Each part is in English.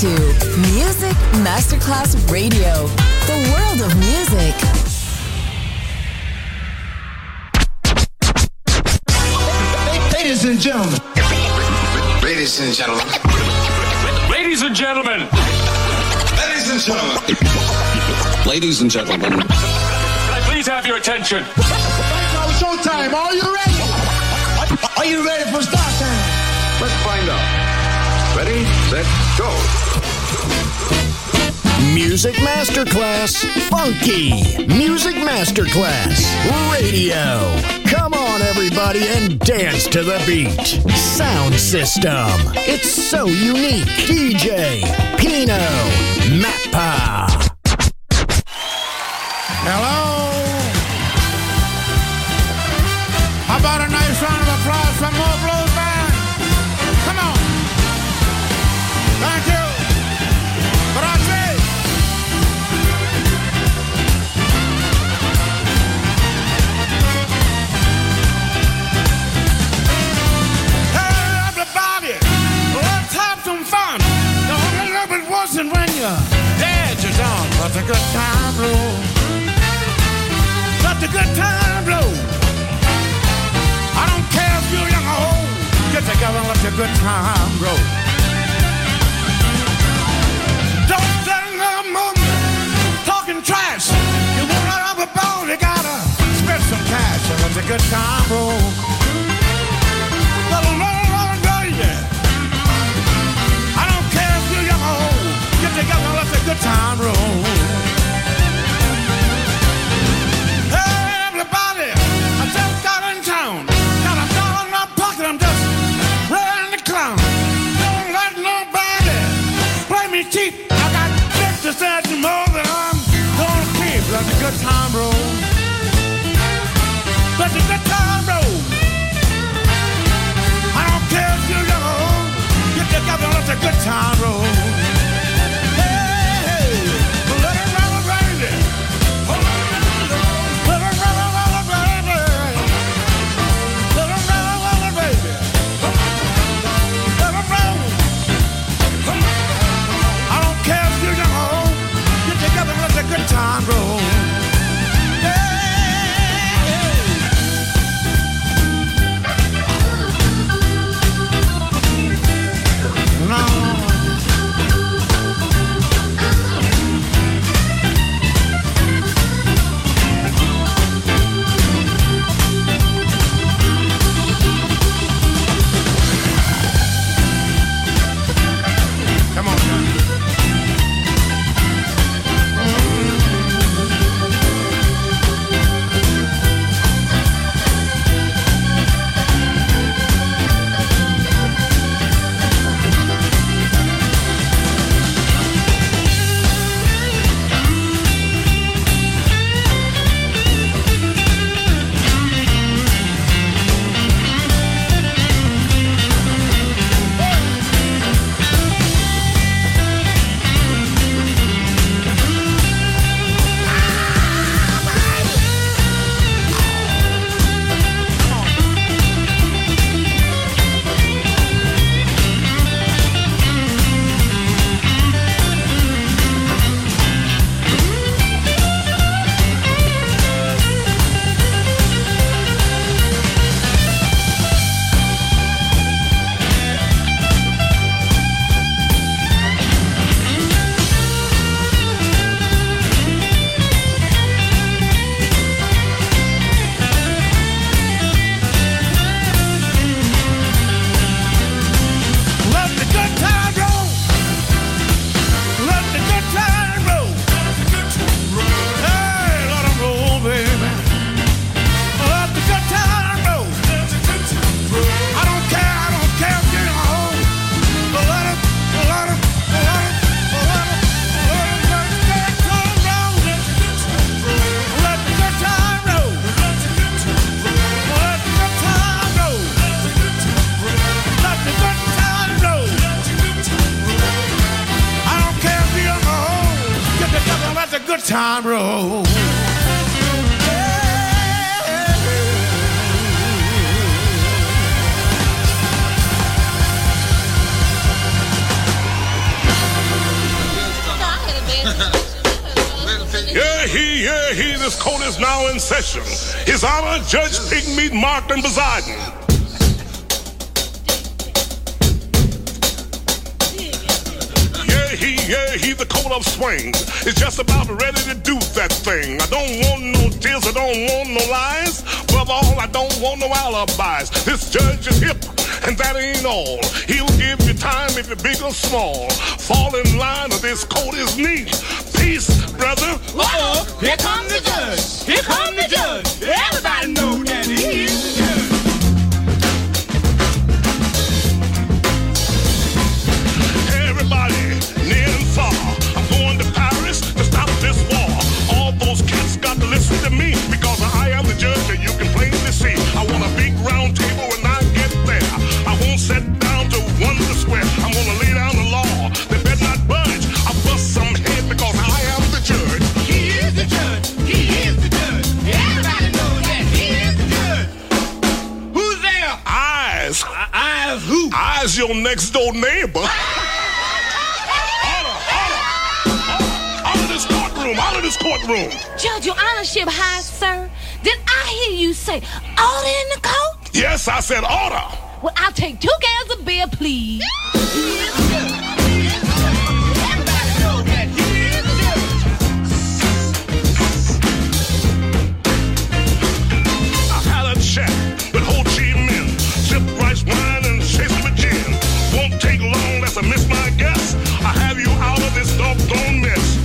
to Music Masterclass Radio, the world of music. Ladies and gentlemen. Ladies and gentlemen. Ladies and gentlemen. Ladies and gentlemen. Ladies and gentlemen. Can I please have your attention? Now it's showtime. Are you ready? Are you ready for start time? Let's find out. Ready, set, go. Music Masterclass Funky. Music Masterclass Radio. Come on, everybody, and dance to the beat. Sound system. It's so unique. DJ Pino Mappa. Hello. How about a nice round of applause for More Blues Band? Come on. Thank you. Grazie. Hey, everybody, let's have some fun. Don't let it wasn't when your dad is on. Let the good time roll. Let the good time roll. I don't care if you're young or old. Get together and let the good time roll. Don't stand there moving, talking trash. You wanna have a ball, you gotta spend some cash and let the good time roll. Let it roll, baby. I don't care if you're young or old. Get together and let the good time roll. Hey, everybody, I just got in town. Got a dollar in my pocket, I'm just ready to clown. Don't let nobody play me cheap. I got 50 cents more than I'm gonna keep. Let the good time roll. Let the good time roll. I don't care if you're young or old. Get together, let the good time roll. Hey, hey, let it roll, baby. Let it roll, baby. Let it roll, baby. Let it roll. I don't care if you're young or old. Get together, let the good time roll. Come on, John. Time roll. this court is now in session. His Honor, Judge Pigmeat Martin presiding. Yeah, he the coat of swing is just about ready to do that thing. I don't want no tears, I don't want no lies. Above all, I don't want no alibis. This judge is hip, and that ain't all. He'll give you time if you're big or small. Fall in line or this coat is neat. Peace, brother. Uh-oh, here come the judge. Here come the judge. Everybody know that he is the judge. Everybody, near and far, I'm going to Paris to stop this war. All those cats got to listen to me because I am the judge and you can plainly see. I want a big round table when I get there. I won't sit down to wonder square. I'm gonna lay down the law. They better not budge. I'll bust some head because I am the judge. He is the judge. He is the judge. Everybody knows that he is the judge. Who's there? Eyes. Eyes who? Eyes your next door neighbor. Out of this courtroom. Judge, your honorship high, sir. Did I hear you say order in the court? Yes, I said order. Well, I'll take 2 cans of beer, please. Everybody knows that he is the judge. I had a chat with Ho Chi Minh. Sip rice wine and chase it with gin. Won't take long, lest I miss my guess. I have you out of this doggone mess.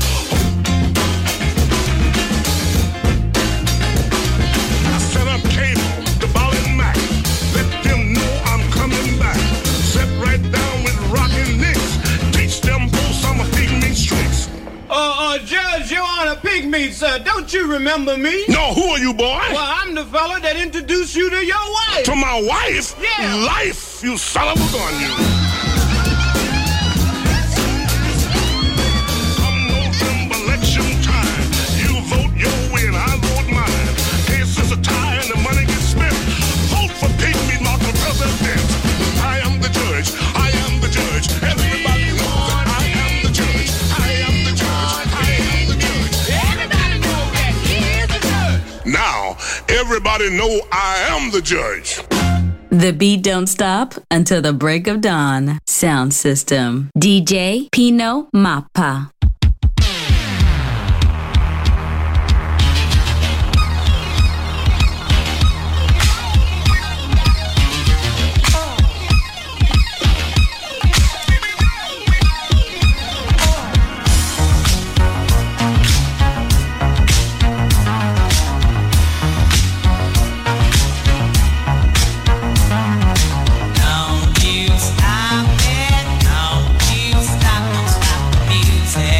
Judge, you're on a pygmy, sir. Don't you remember me? No, who are you, boy? Well, I'm the fella that introduced you to your wife. To my wife? Yeah. Life, you son of a gun, you. Come November election time, you vote your way and I vote mine. Case is a tie and the money gets spent. Vote for Pygmy Mark for president. I am the judge. I am the judge. Everybody knows that I am the judge. I am the judge. I am the judge. Everybody knows that he is the judge. Now, everybody know I am the judge. The beat don't stop until the break of dawn. Sound system. DJ Pino Mappa. Don't you stop it, don't you stop the music.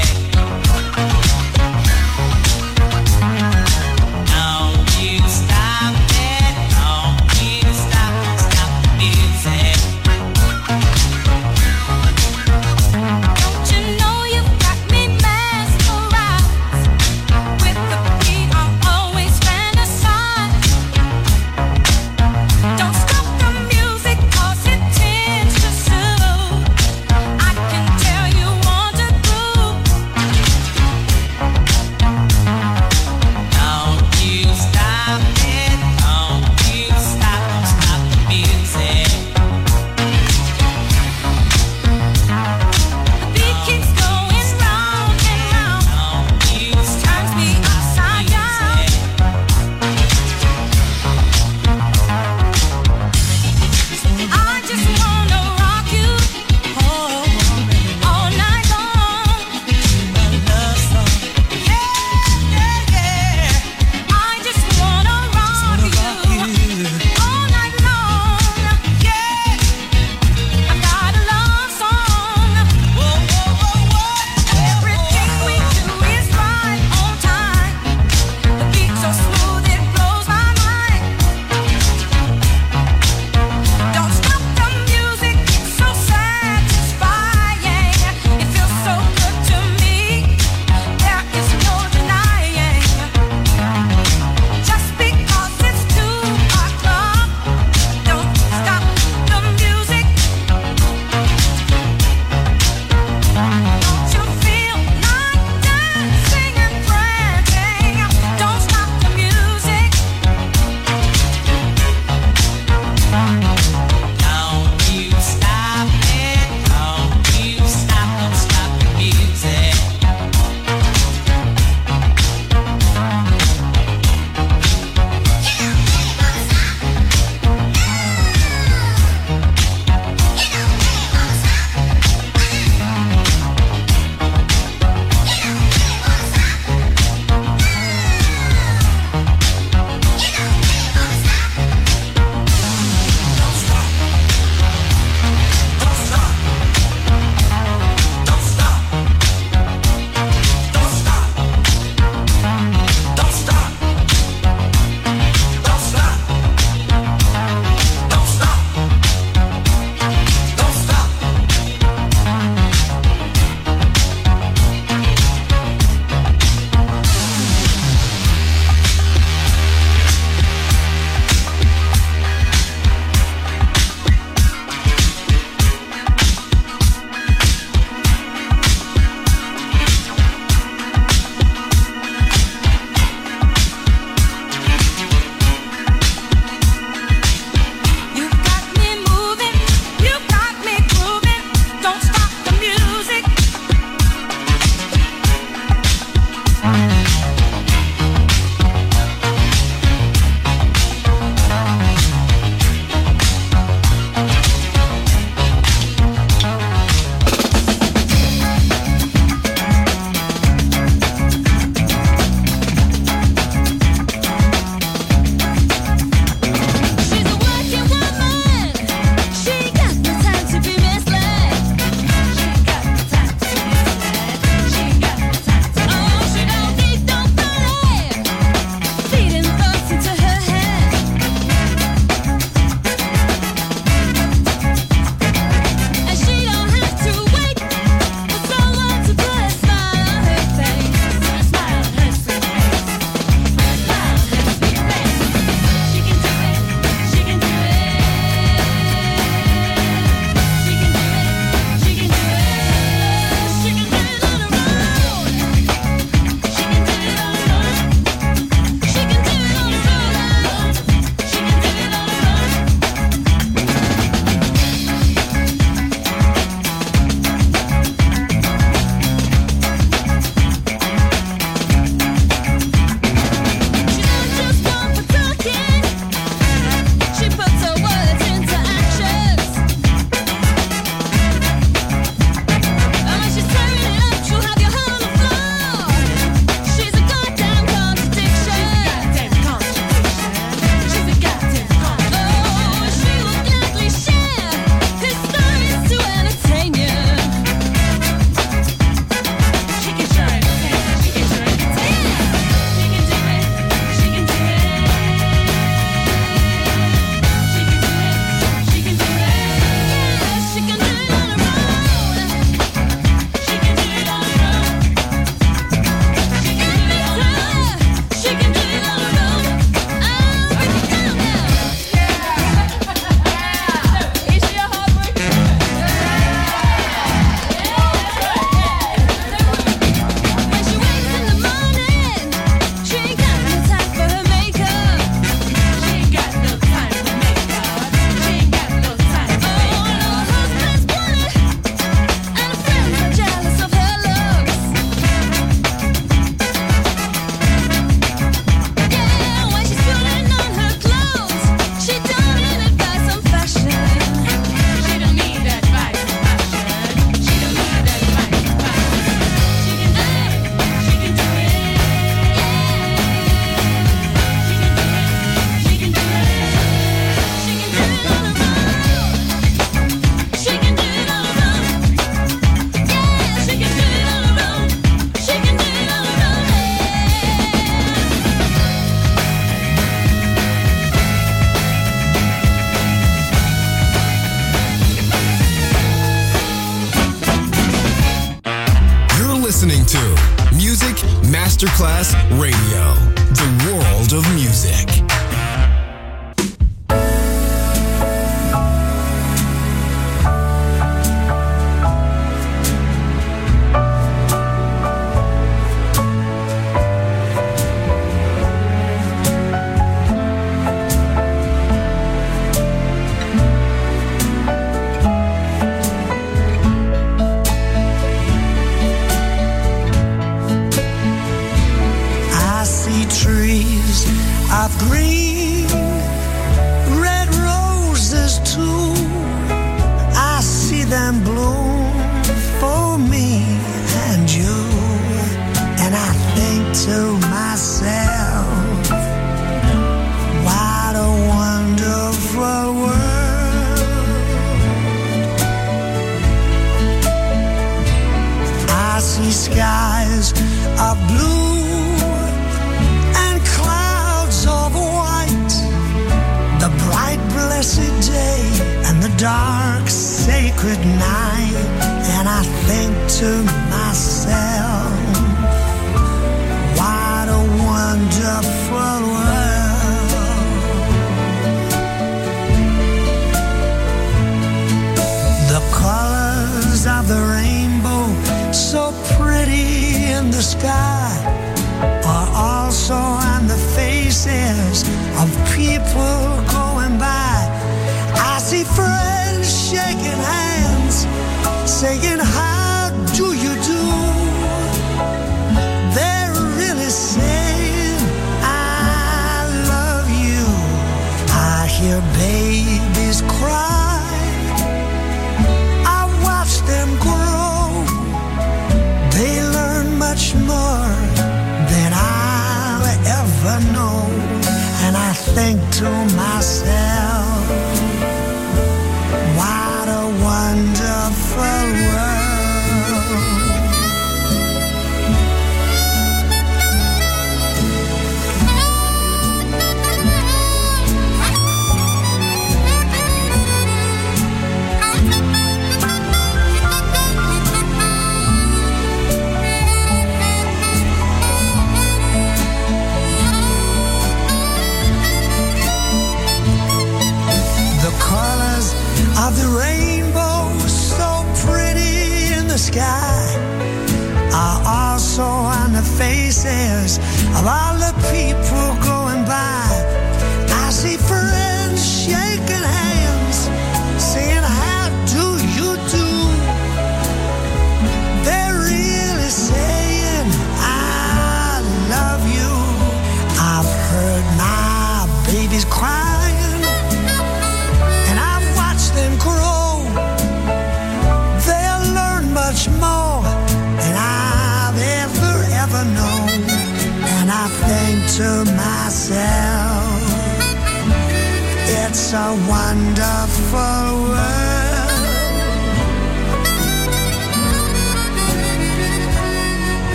listening to Music Masterclass Radio, the world of music.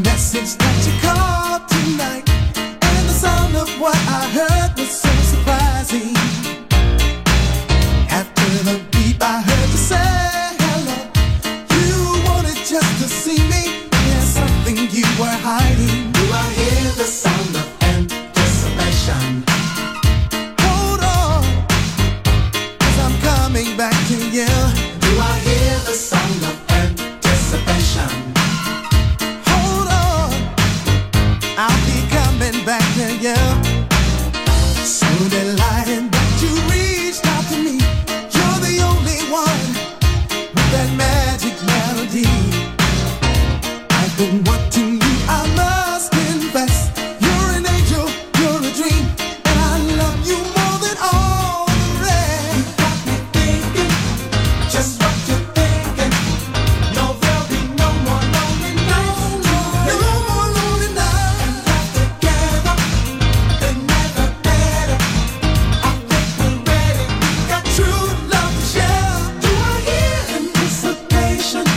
That you called tonight, and the sound of what I heard was so surprising. to you. So delighted that you reached out to me. You're the only one with that magic melody. I've been wanting you, I must confess. You're an angel, you're a dream, and I love you more than all the rest. You got me thinking just what you're thinking. No, there'll be no more lonely nights. No more lonely nights. And love together, they're never better. I think we're ready. We got true love to share. Do I hear anticipation?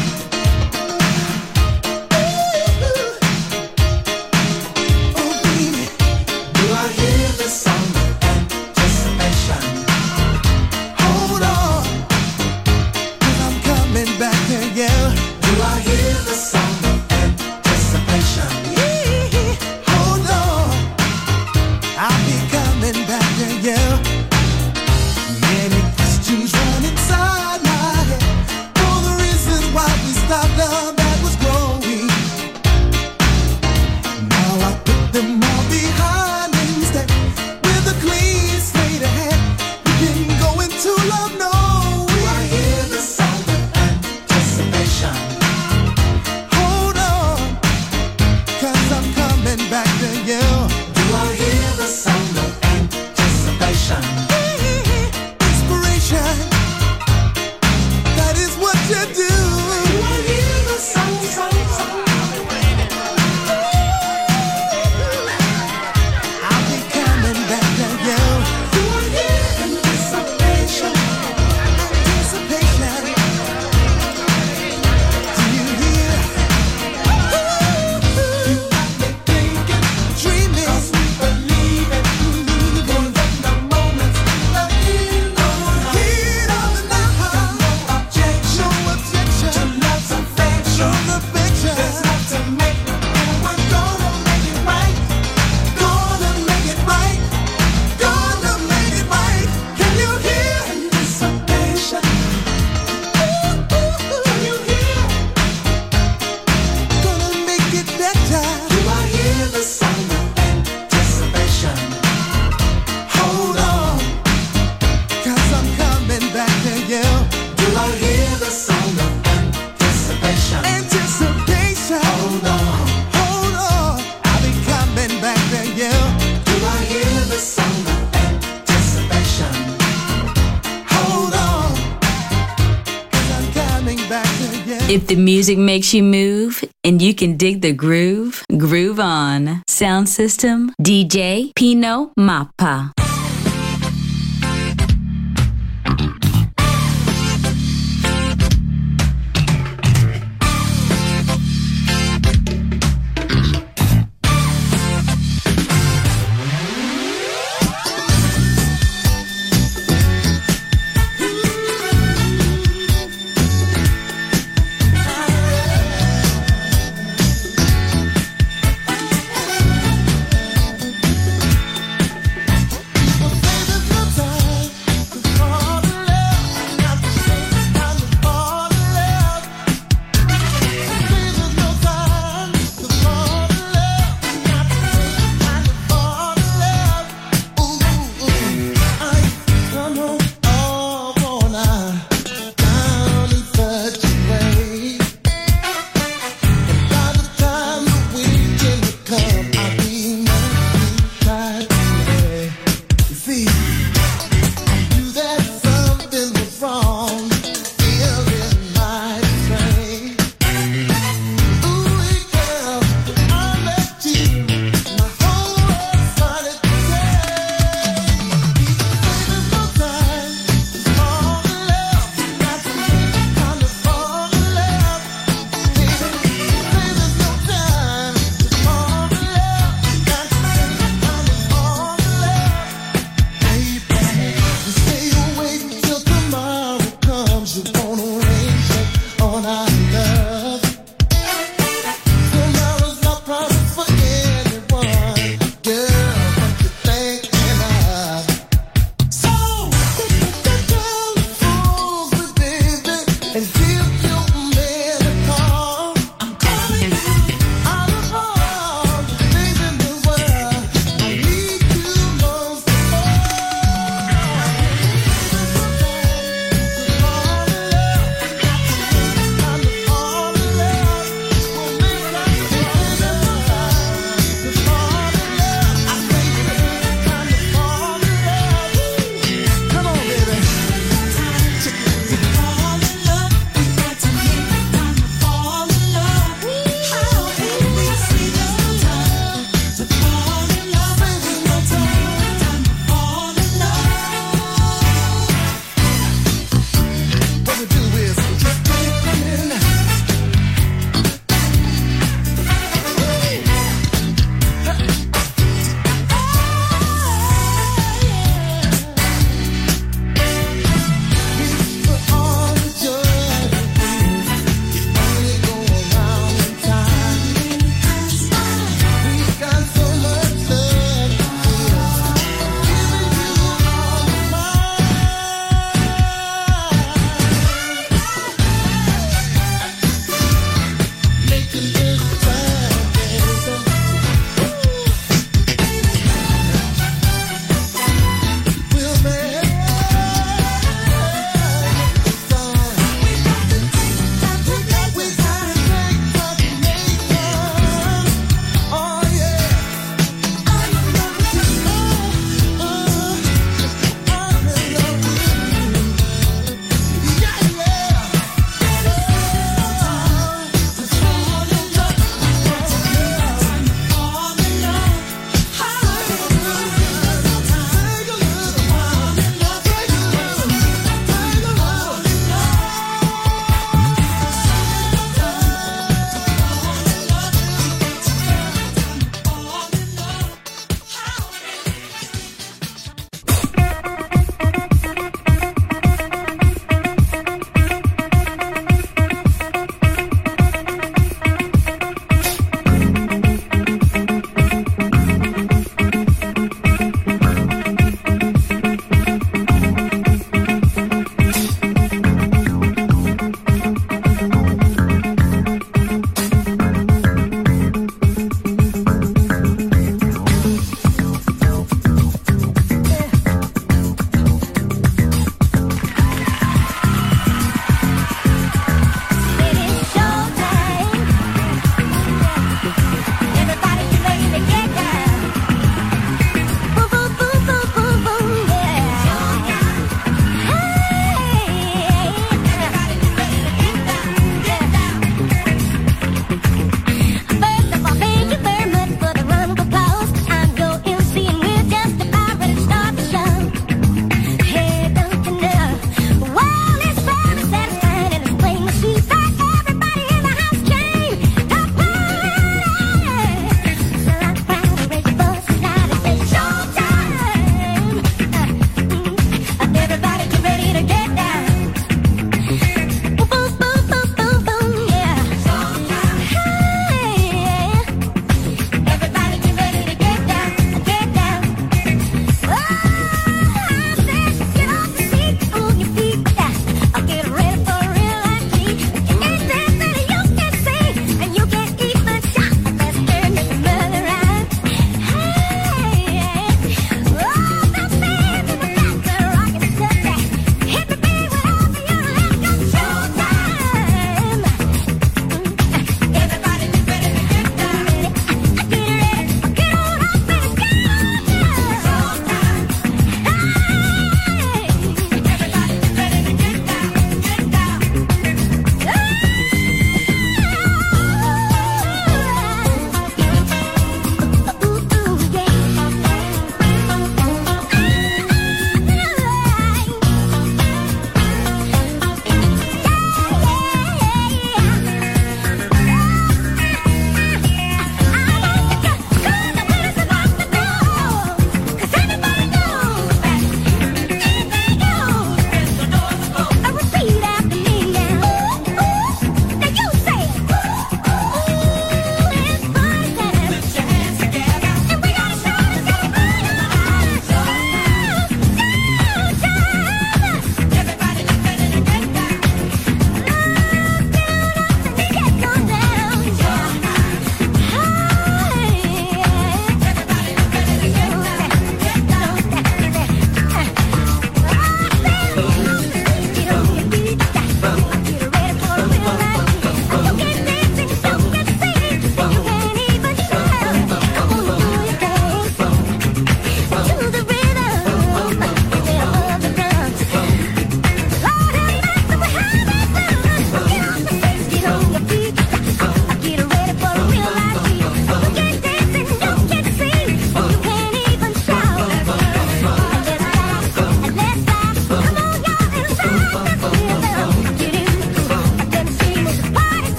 If the music makes you move and you can dig the groove, groove on. Sound system, DJ Pino Mappa.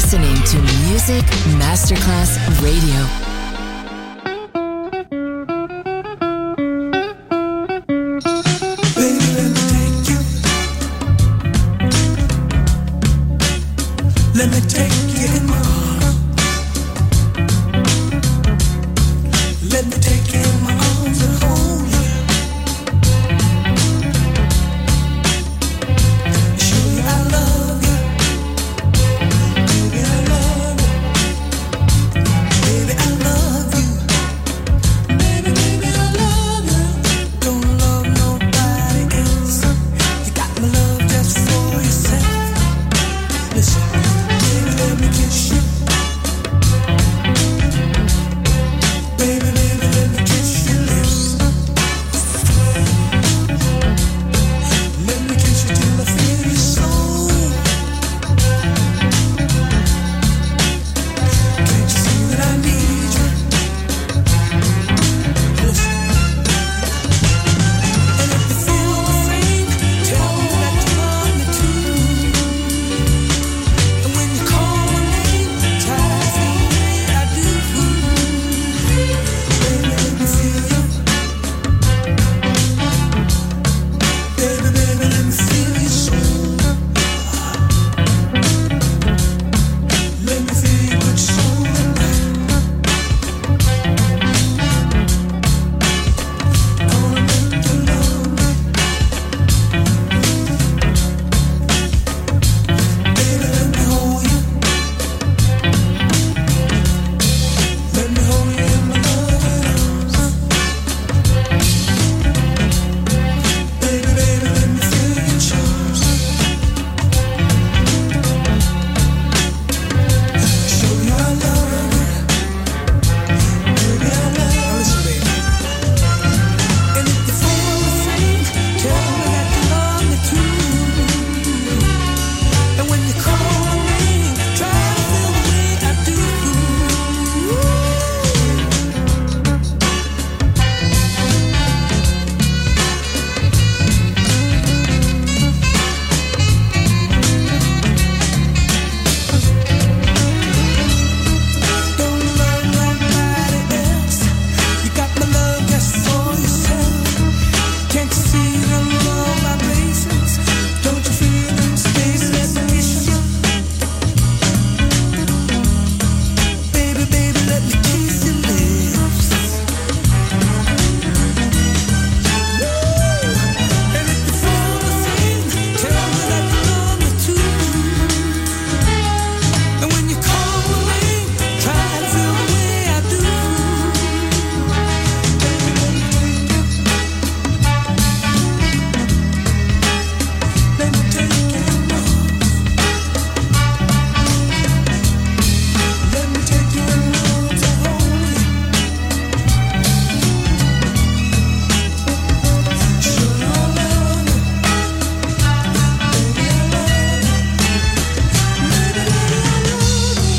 listening to Music Masterclass Radio. Let me take you in my arms. Let me take you in my arms and hold you. Show you I love you. Baby, I love you. Baby, I love you. Baby, baby, I love you. Don't love nobody else. You got my love just for yourself. Listen. Let me kiss you. Baby, baby, let me kiss your lips. Let me kiss you till I feel your soul. Can't you see that I need you? Listen. And if you feel the same, tell me that you love me too. And when you call my name, try to feel the way I do. Baby, let me feel you. Baby, baby, let me feel your soul. Let me feel your good soul tonight. Gonna make you love me. Baby, let me hold you. Let me hold you in my loving arms. Baby, baby, let me feel your charms. Show you I love you. Baby, I love you. Listen, baby. And if you feel the same, tell me that you love me too. And when you call my name, try to feel the way I do. Don't love nobody else. You got my love just for yourself. Can't you see the love vibrations? Don't you feel them spaces that kiss you? Baby, baby, let me kiss your lips. And if you feel the same, tell me that you love me too. And when you call my name, try to feel the way I do. Baby, let me take you. Let me take you in my arms. Let me take you in my arms and hold you. Show you I love you. Baby, I love you. Baby, baby, I love you.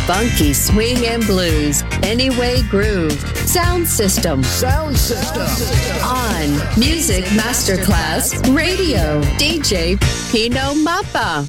Funky swing and blues. Anyway Groove. Sound System. Sound System. On Music Masterclass Radio. DJ Pino Mappa.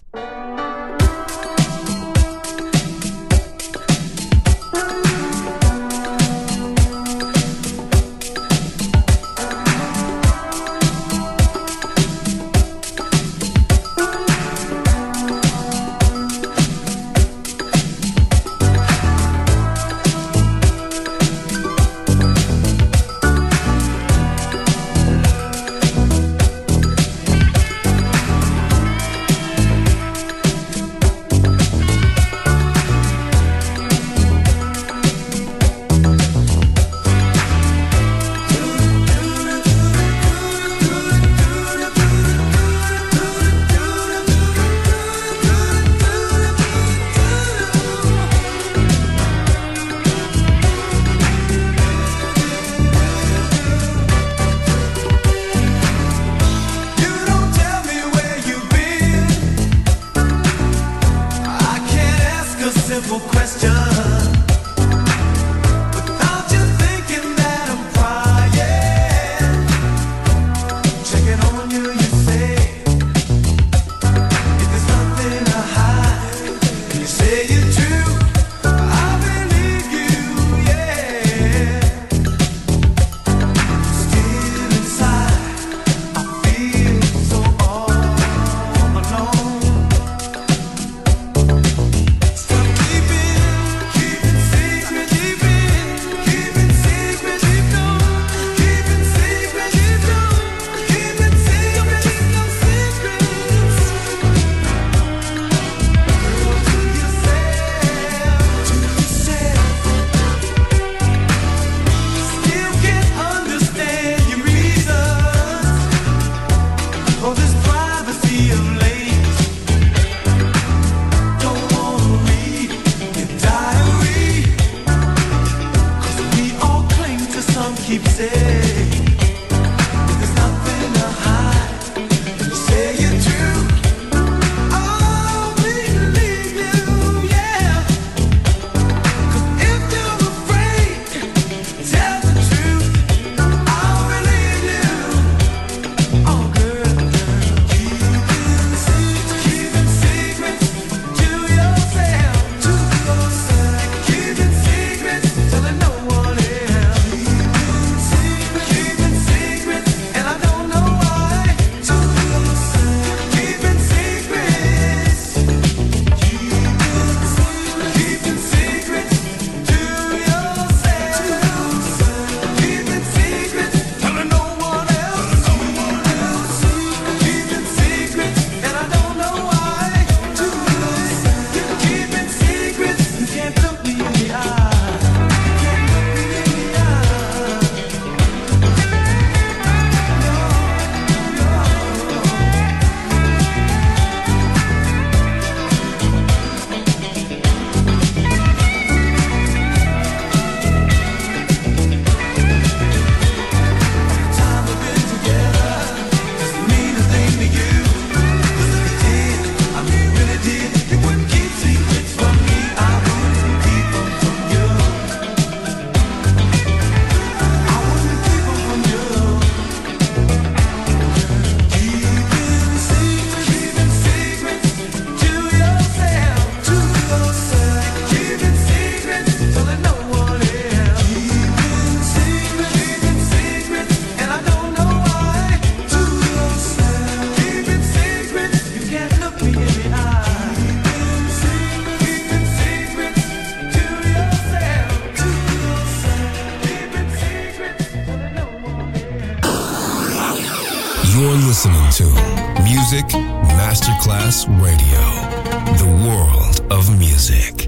You're listening to Music Masterclass Radio, the world of music.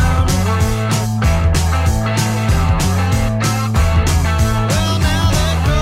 Well, now that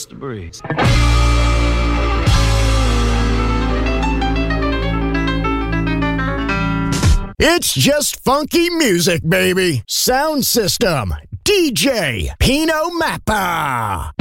the breeze. It's just funky music, baby. Sound System, DJ Pino Mappa.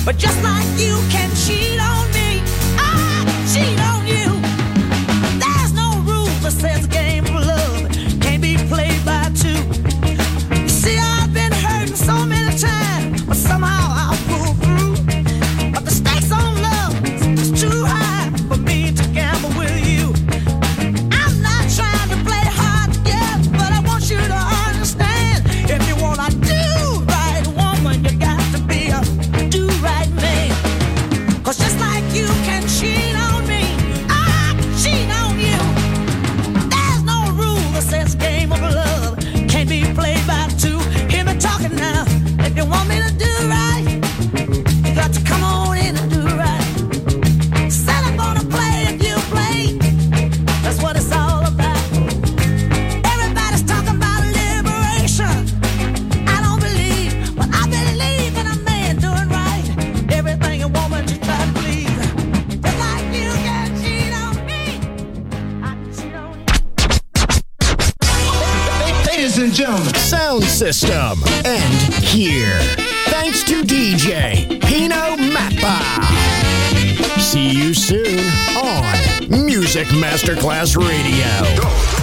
But just like you can cheat on me, I can cheat on you. There's no rule that says a game of love can't be played by two. You see, I've been hurting so many times, but somehow I'll pull through. But the stakes on love is too high for me to gamble with you. I'm not trying to play hard to get, but I want you to understand. If you wanna do right, woman, you got to be a do right man. 'Cause just like you can cheat on me, I can cheat on you. There's no rule that says game of love can't be played by two. Hear me talking now. If you want me to do right, you got to come on in and do right. Said I'm gonna play if you play. That's what it's all about. Everybody's talking about liberation. I don't believe, but I believe in a man doing right. Everything a woman just try to please. Just like you can cheat on me, I can cheat on you. Ladies and gentlemen, Sound System. And here, thanks to DJ Pino Mappa. See you soon on Music Masterclass Radio.